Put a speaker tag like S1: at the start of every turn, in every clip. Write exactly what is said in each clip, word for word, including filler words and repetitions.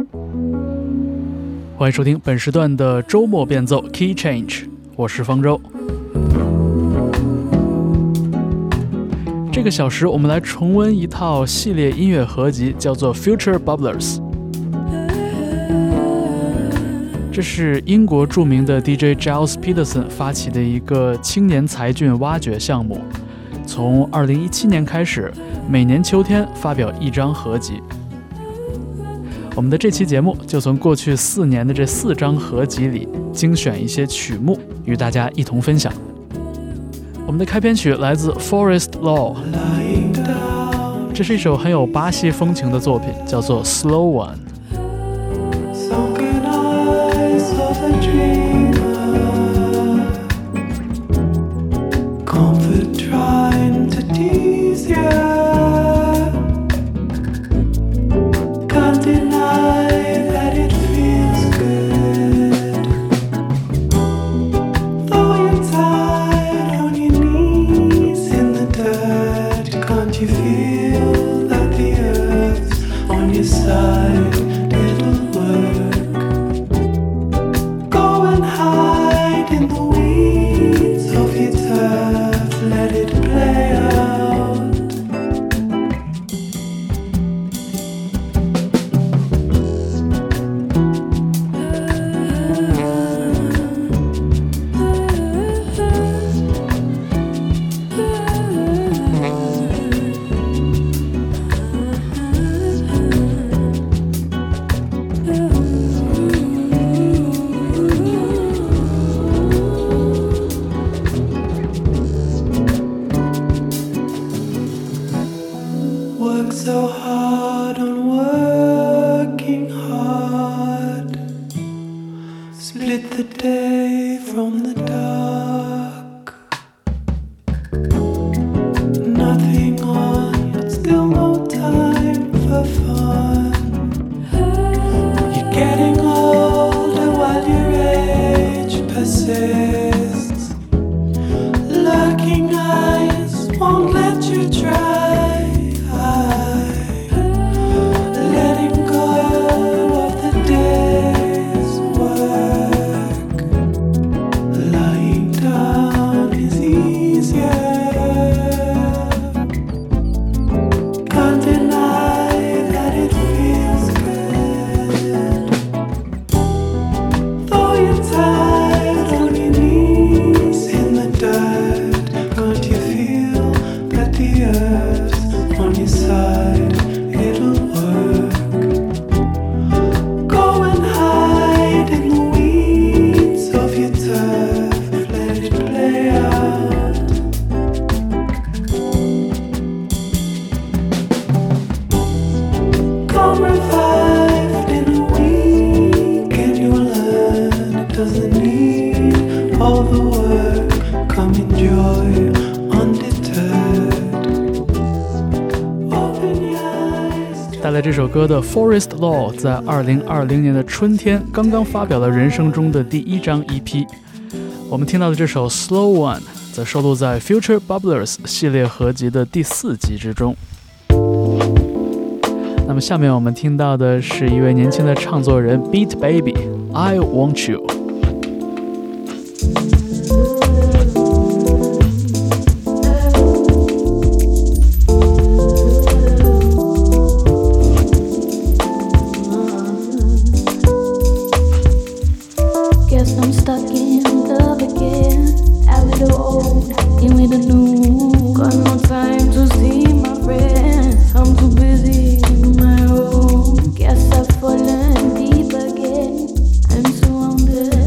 S1: 欢迎收听本时段的周末变奏 Key Change， 我是方舟。这个小时我们来重温一套系列音乐合集，叫做 Future Bubblers。 这是英国著名的 D J Giles Peterson 发起的一个青年才俊挖掘项目，从二零一七年开始，每年秋天发表一张合集。我们的这期节目就从过去四年的这四张合集里精选一些曲目，与大家一同分享。我们的开篇曲来自 Forest Law， 这是一首很有巴西风情的作品，叫做 Slow Law。 带来这首歌的 Forest Law 在二零二零年的春天刚刚发表了人生中的第一张 E P。 我们听到的这首 Slow One 则收录在 Future Bubblers 系列合集的第四集之中。那么下面我们听到的是一位年轻的唱作人 Beat Baby I Want You。
S2: Guess I've fallen deep again. I'm so on the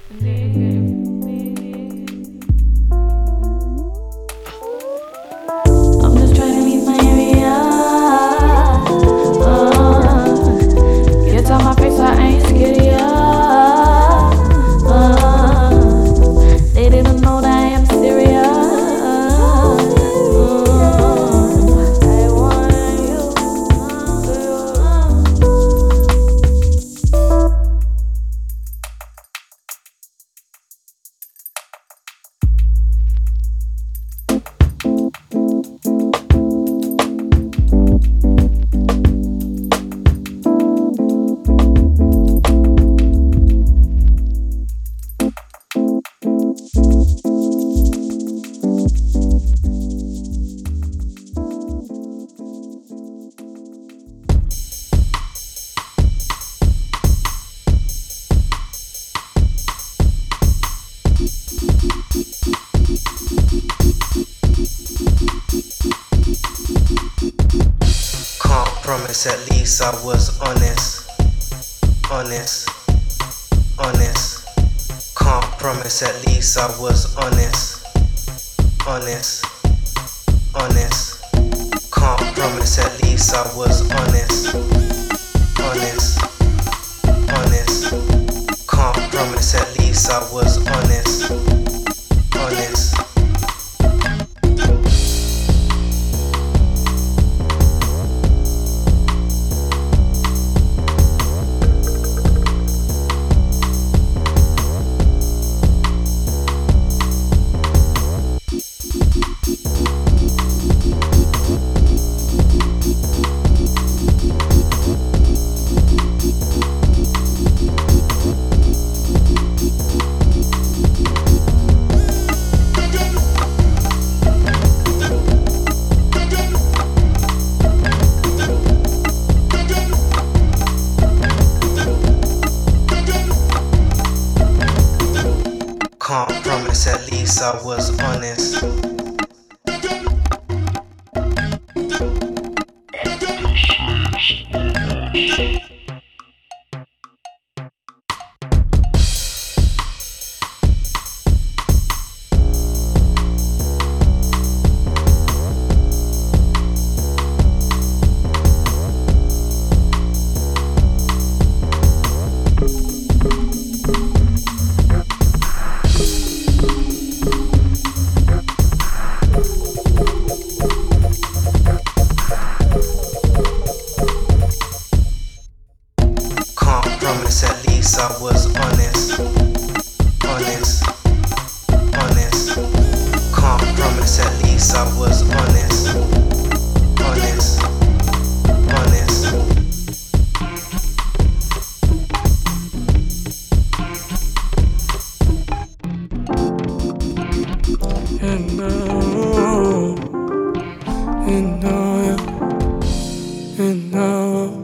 S2: At least I was honest, honest, honest. Can't promise, at least I was honest, honest, honest. Can't promise, at least I was honest, honest, honest. Can't promise, at least I was honest, honest. Can't promise, at least I was honest. At least I was honest, honest, honest. Can't promise, at least I was honest, honest, honest. And now, and now, and now.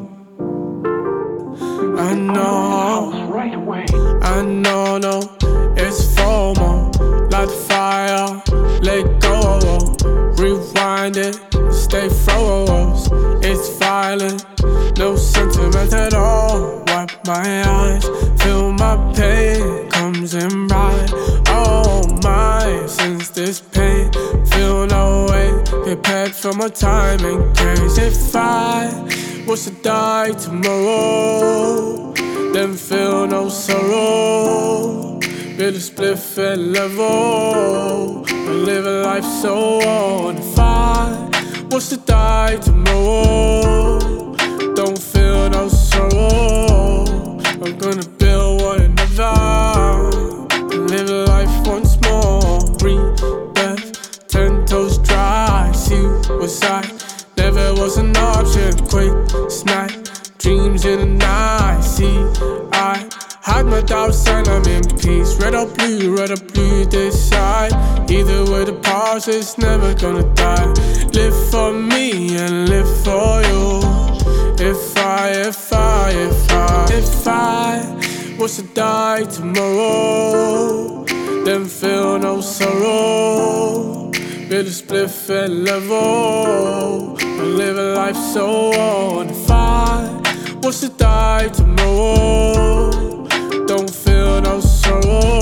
S2: I know, I know, no, it's FOMO, light the fire, let go, rewind it, stay froze, it's violent, no sentiment at all, wipe my eyes, feel my pain, comes in right, oh my, since this pain, feel no way, prepared for my time in case if I was to die tomorrow, then feel no sorrow. Build a spliff and level, and live a life so on. If I was to die tomorrow, don't feel no sorrow. I'm gonna build one another, and live a life once more. Rebirth, ten toes dry, suicide never was an option. Quick snap, dreams in the night. See, I hide my doubts and I'm in peace. Red or blue, red or blue, decide. Either way the past is never gonna die. Live for me and live for you. If I, if I, if I, if I was to die tomorrow, then feel no sorrow. Build a spliff and level, and live a life so on. If I was to die tomorrow, don't feel no sorrow.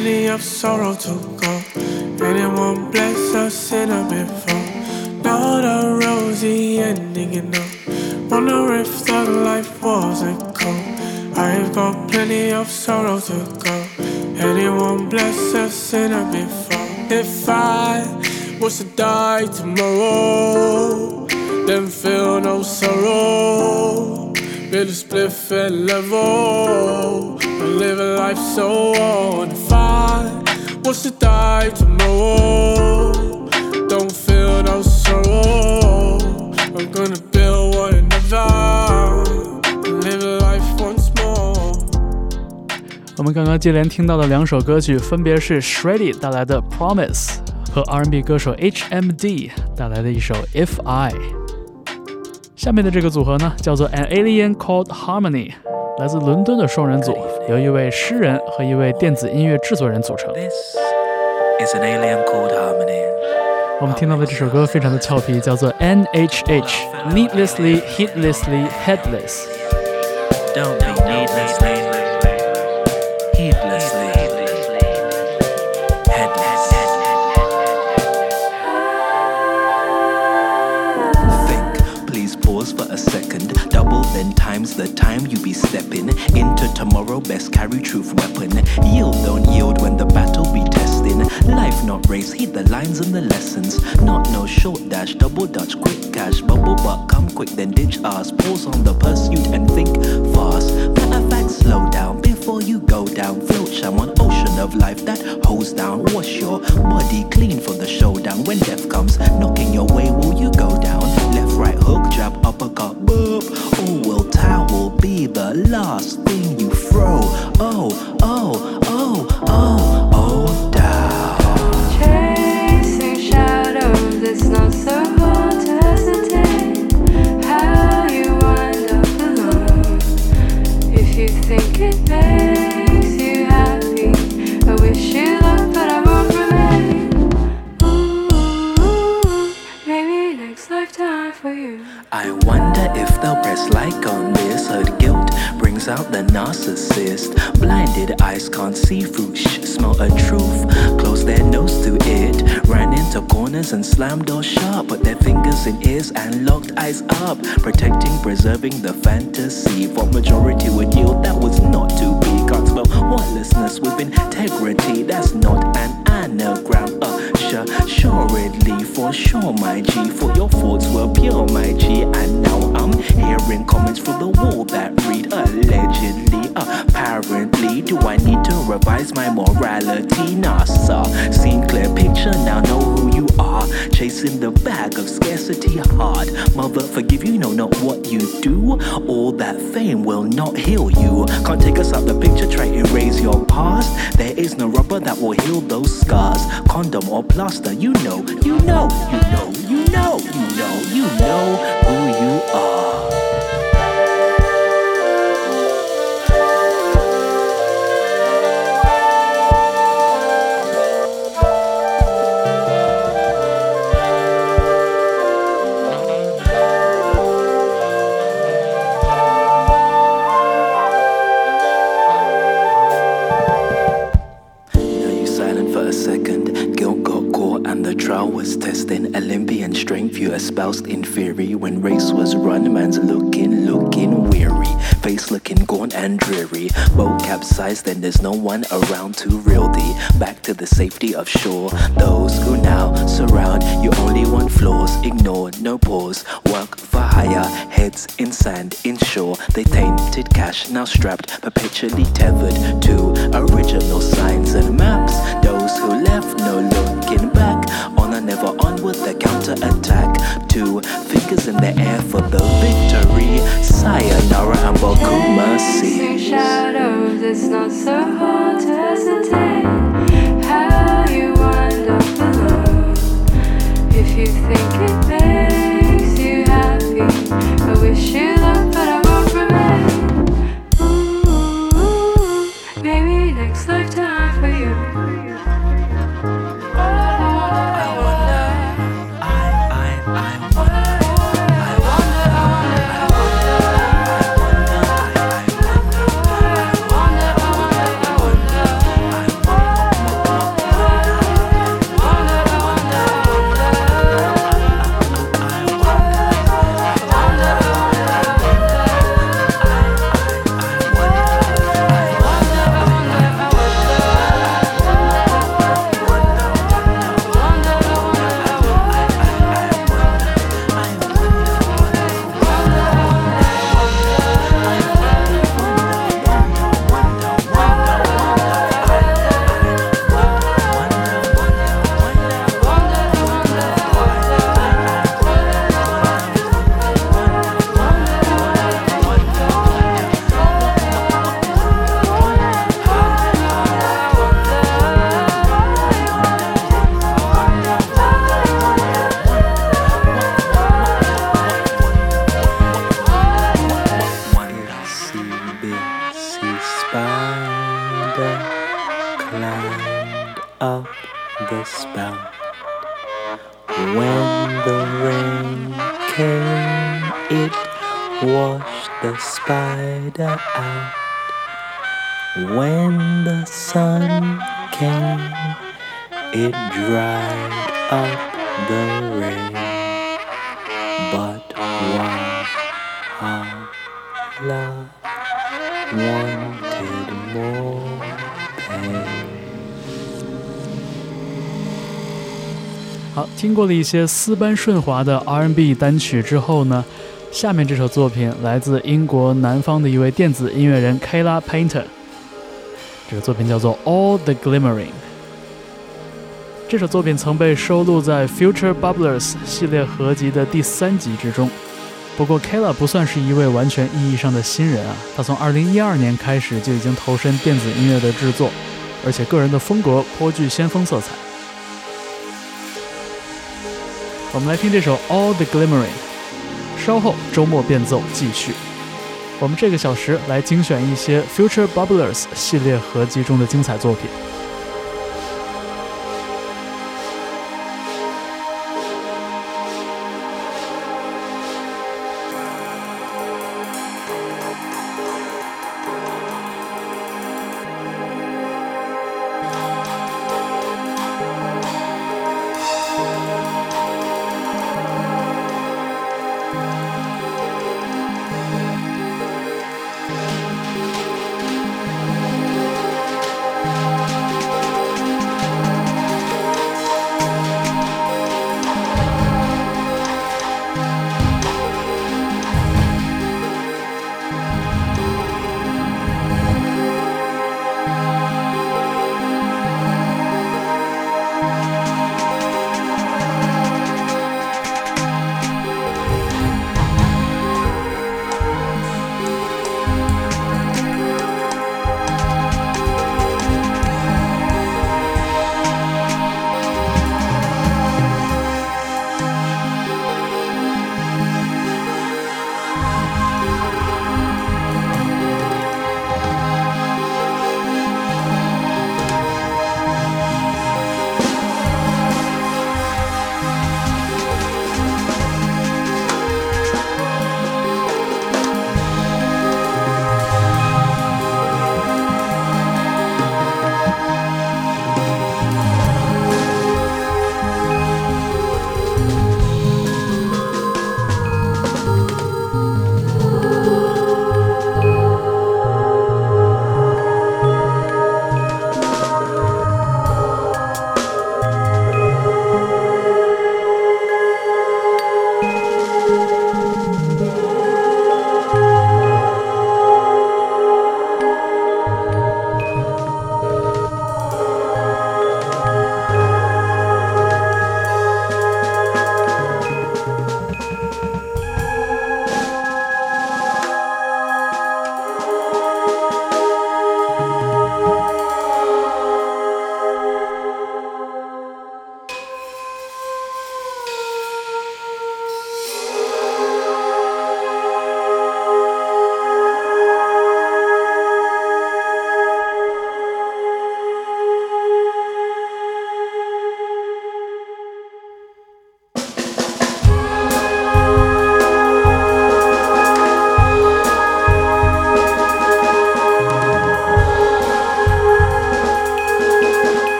S2: plenty of sorrow to go. And it won't bless us in a before. Not a rosy ending, you know. Wonder if the life wasn't cold. I've got plenty of sorrow to go. And it won't bless us in a before. If I was to die tomorrow, then feel no sorrow. Build a spliff and level, and live a life so on. If I was to die tomorrow, don't feel no sorrow. I'm gonna build one another, and live a life once more.
S1: 我们刚刚接连听到的两首歌曲，分别是 Shreddy 带来的 Promise 和 R and B 歌手 H M D 带来的一首 If I。下面的这个组合呢，叫做 An Alien Called Harmony， 来自伦敦的双人组，由一位诗人和一位电子音乐制作人组成。
S3: This is an alien called Harmony。
S1: 我们听到的这首歌非常的俏皮，叫做 N H H Needlessly, Heedlessly, Headless。
S3: Don't be needlessly, heedlessly, headless. Think, please pause for a second. Double then times the time you be stepping into tomorrow. Best carry truth weapon. Yield, don't yield when the battle be testing. Life not race, heed the lines and the lessons. Not no short dash, double dutch, quick cash, bubble butt, come quick then ditch us. Pause on the pursuit and think fast. Matter of fact, slow down before you go down. Float sham on ocean of life that holds down. Wash your body clean for the showdown. When death comes knocking your way, will you go down? Left, right, hook, jab, uppercut, boop. Or will towel be the last thing you throw? Oh, oh, oh, oh, oh, down.
S4: Chasing shadows, it's not so hard to hesitate. How you wind up alone. If you think it makes you happy, I wish you luck, but I won't remain. Ooh, maybe next lifetime for you.
S3: I wonder if they'll press like on this. Heard guilt brings out the narcissist. Blinded eyes can't see through. Shh, smell a truth. Close their nose to it. Ran into corners and slammed doors sharp. Put their fingers in ears and locked eyes up. Protecting, preserving the fantasy. For majority would yield that was not to be. Can't spell wordlessness with integrity. That's not an anagram. Uh, sure, assuredly, for sure, my G. For your thoughts were pure, my G. And now I'm hearing comments through the wall that read allegedly, apparently. Do I need to revise my morality? Nah, sir. Seen clear picture, now know who you are. Chasing the bag of scarcity hard. Mother, forgive you, know not what you do. All that fame will not heal you. Can't take us out the picture, try erase your past. There is no rubber that will heal those scars. Condom or plaster, you know, you know, you know, you know, you know, you know who you are. Olympian strength you espoused in theory. When race was run, man's looking, looking weary. Face looking gaunt and dreary. Boat capsized and there's no one around to reel thee back to the safety of shore. Those who now surround you only want flaws. Ignore, no pause. Work for hire, heads in sand, inshore. They tainted cash, now strapped, perpetually tethered to original signs and maps. Those who left no looking back. Honor never onward, the counter-attack. Two fingers in the air for the victory. Sayonara and Bokuma
S4: Chasing shadows, it's not so hard to hesitate. How you wind up alone. If you think it makes you happy, I wish you luck, but I won't remain. Ooh, maybe next lifetime for you.
S3: I the spout. When the rain came, it washed the spider out. When the sun came, it dried up the rain. But Walhalla wanted more pain.
S1: 好，听过了一些丝般顺滑的 R and B 单曲之后呢，下面这首作品来自英国南方的一位电子音乐人 Kayla Painter， 这个作品叫做 All the Glimmering。 这首作品曾被收录在 Future Bubblers 系列合集的第三集之中。不过 Kayla 不算是一位完全意义上的新人啊，他从二零一二年开始就已经投身电子音乐的制作，而且个人的风格颇具先锋色彩。我们来听这首 All the Glimmering， 稍后周末变奏继续。我们这个小时来精选一些 Future Bubblers 系列合集中的精彩作品。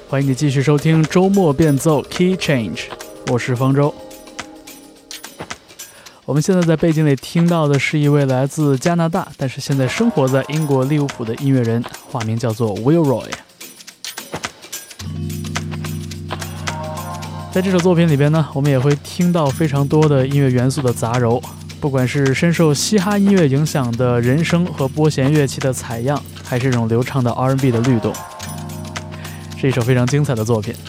S1: 欢迎你继续收听周末变奏 Key Change， 我是方舟。我们现在在背景里听到的是一位来自加拿大，但是现在生活在英国利物浦的音乐人，化名叫做 Wilroy。在这首作品里边呢，我们也会听到非常多的音乐元素的杂糅，不管是深受嘻哈音乐影响的人声和拨弦乐器的采样，还是这种流畅的 R and B 的律动，是一首非常精彩的作品。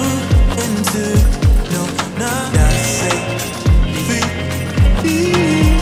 S5: Be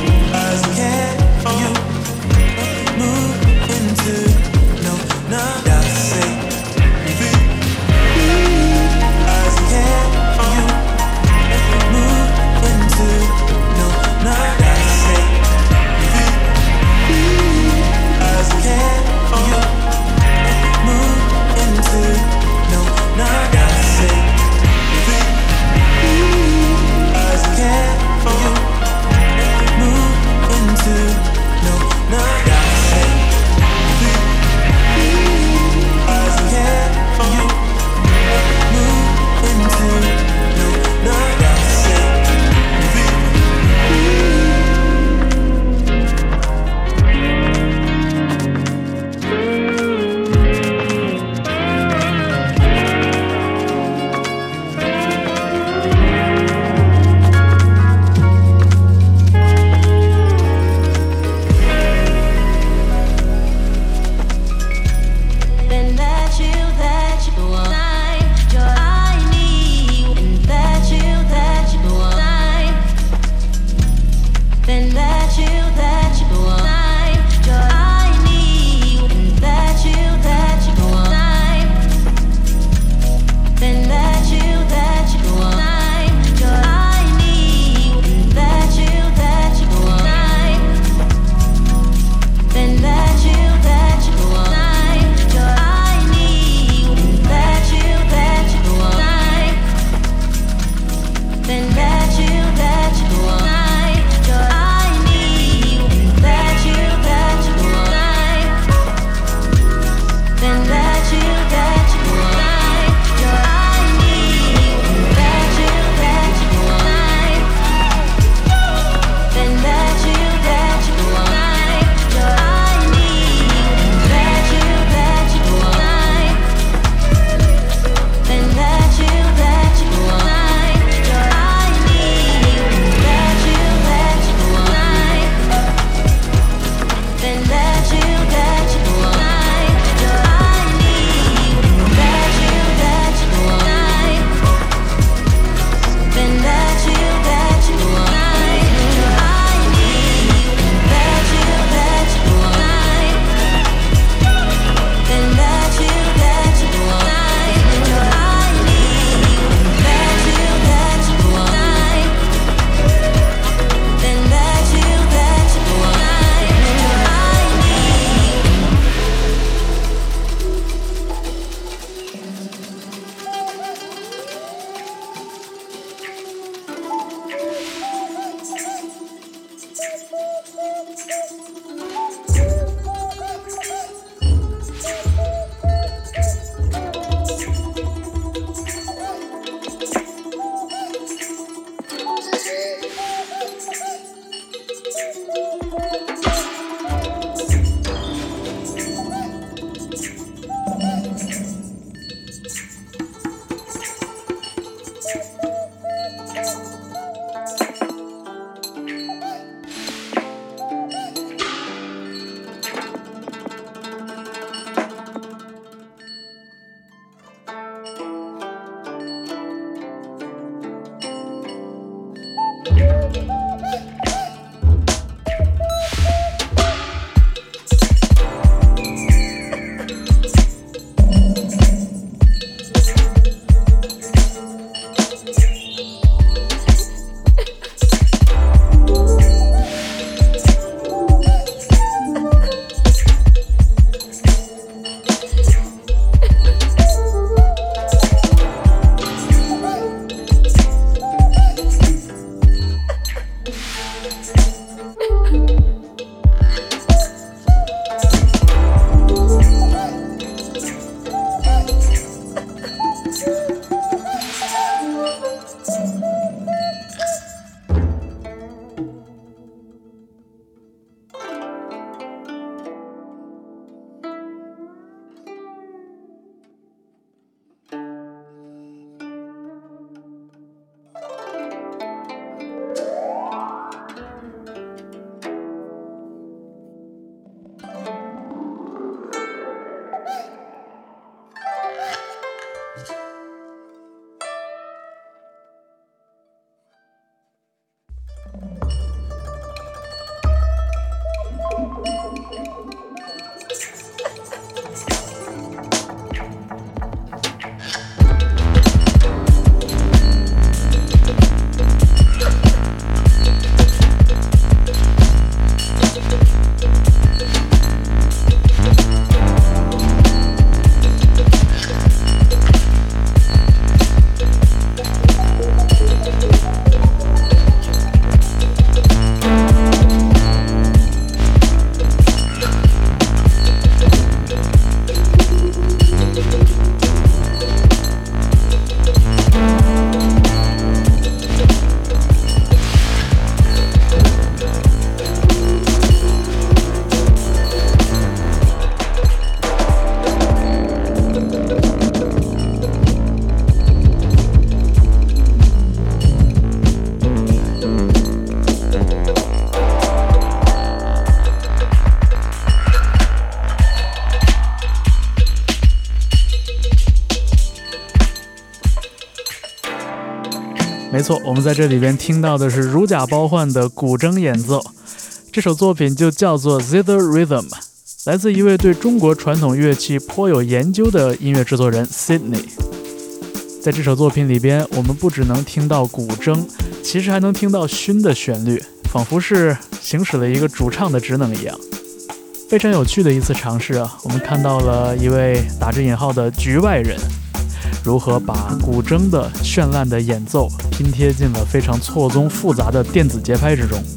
S1: 没错，我们在这里边听到的是如假包换的古筝演奏，这首作品就叫做 Zither Rhythm， 来自一位对中国传统乐器颇有研究的音乐制作人 Sydney。 在这首作品里边，我们不只能听到古筝，其实还能听到埙的旋律，仿佛是行使了一个主唱的职能一样。非常有趣的一次尝试啊，我们看到了一位打着引号的局外人如何把古筝的绚烂的演奏拼贴进了非常错综复杂的电子节拍之中。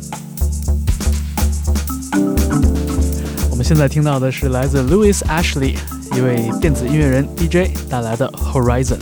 S1: 我们现在听到的是来自 Louis Ashley 一位电子音乐人 D J 带来的 Horizon。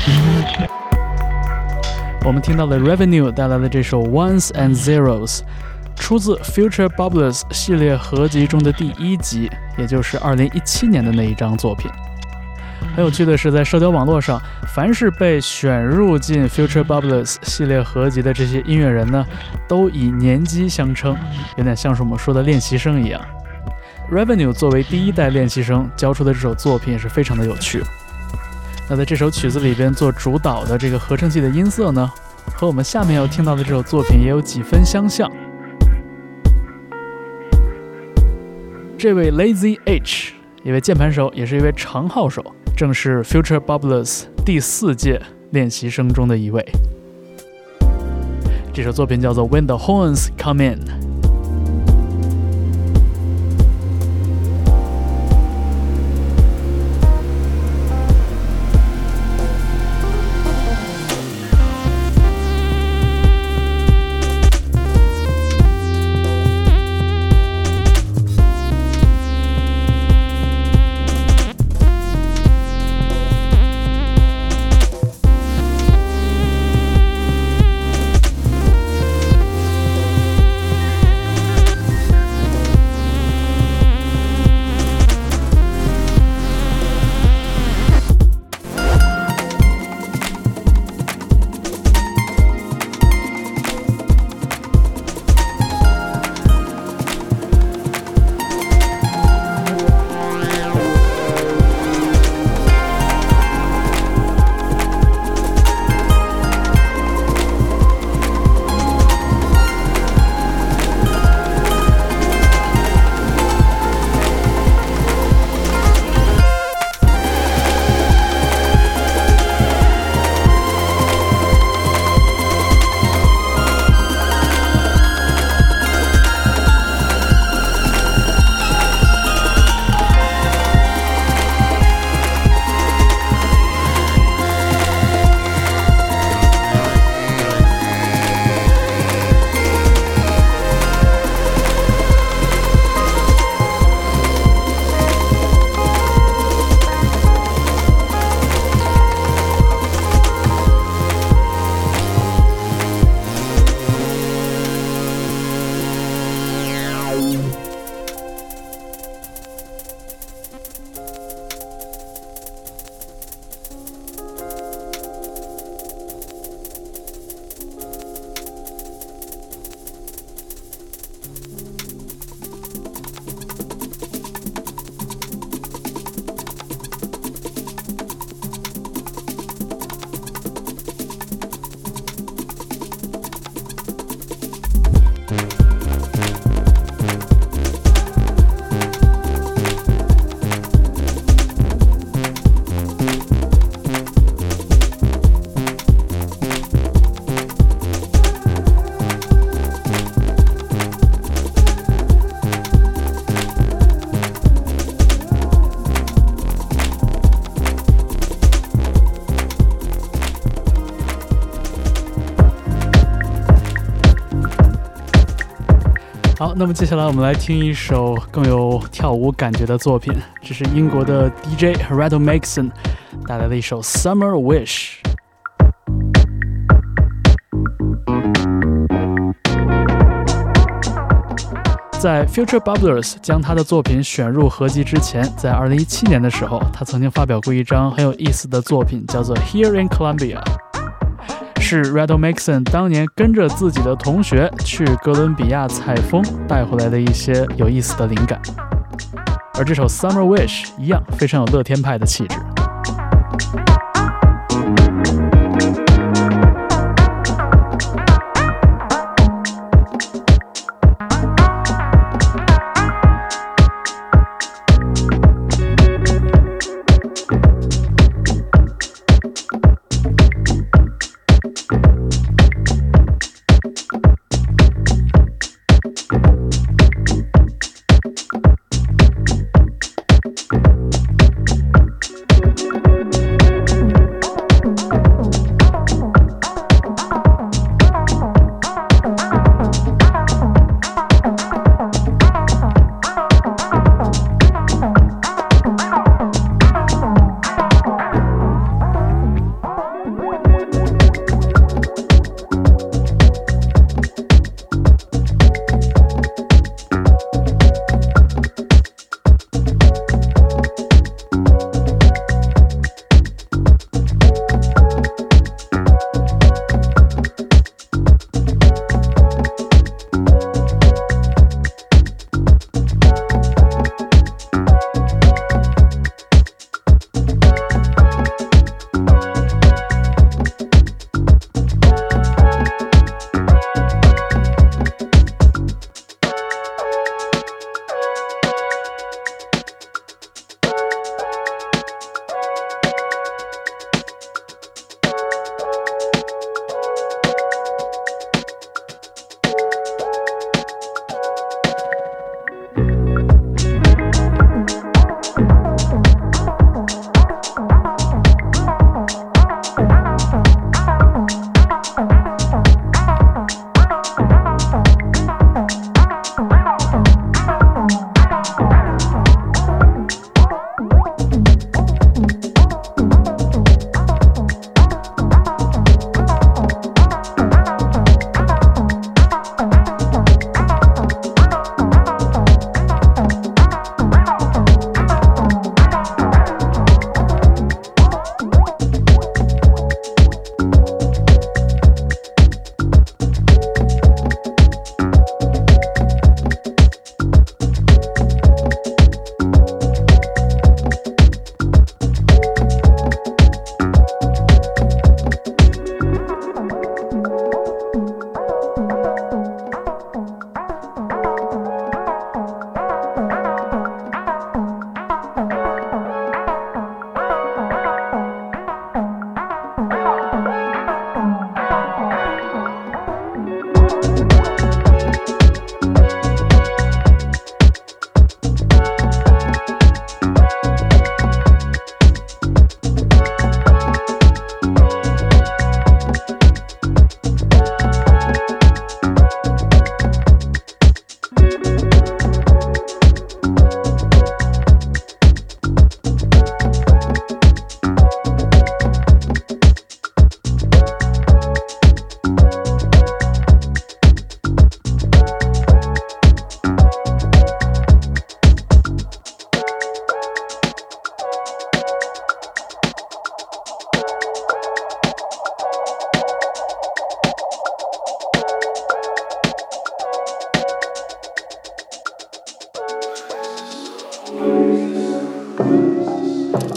S1: 我们听到了 Revenue 带来的这首 Ones and Zeros， 出自 Future Bubblers 系列合集中的第一集，也就是二零一七年的那一张作品。很有趣的是，在社交网络上，凡是被选入进 Future Bubblers 系列合集的这些音乐人呢，都以年纪相称，有点像是我们说的练习生一样。Revenue 作为第一代练习生交出的这首作品也是非常的有趣。那在这首曲子里边做主导的这个合成器的音色呢，和我们下面要听到的这首作品也有几分相像。这位 Lazy H， 一位键盘手，也是一位长号手，正是 Future Bubblers 第四届练习生中的一位。这首作品叫做 When the Horns Come In。好，那么接下来我们来听一首更有跳舞感觉的作品，这是英国的 D J Redo Mason 带来的一首 Summer Wish。在 Future Bubblers 将他的作品选入合集之前，在二零一七年的时候，他曾经发表过一张很有意思的作品，叫做 Here in Columbia， 是 Redo Mason 当年跟着自己的同学去哥伦比亚采风带回来的一些有意思的灵感。而这首 Summer Wish 一样非常有乐天派的气质。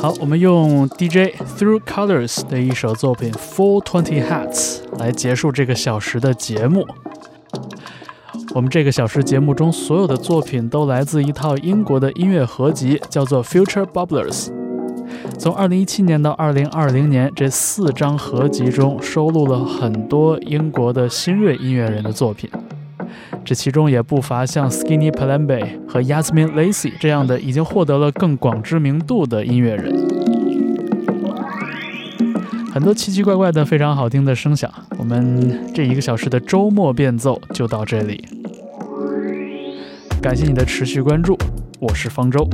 S1: 好，我们用 D J Through Colors 的一首作品 Full Twenty Hats 来结束这个小时的节目。我们这个小时节目中所有的作品都来自一套英国的音乐合集，叫做 Future Bubblers。从二零一七年到二零二零年，这四张合集中收录了很多英国的新锐音乐人的作品，这其中也不乏像 Skinny Palambe 和 Yasmin Lacey 这样的已经获得了更广知名度的音乐人。很多奇奇怪怪的非常好听的声响，我们这一个小时的周末变奏就到这里，感谢你的持续关注，我是方舟。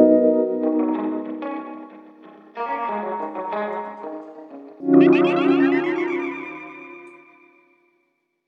S2: Thank you.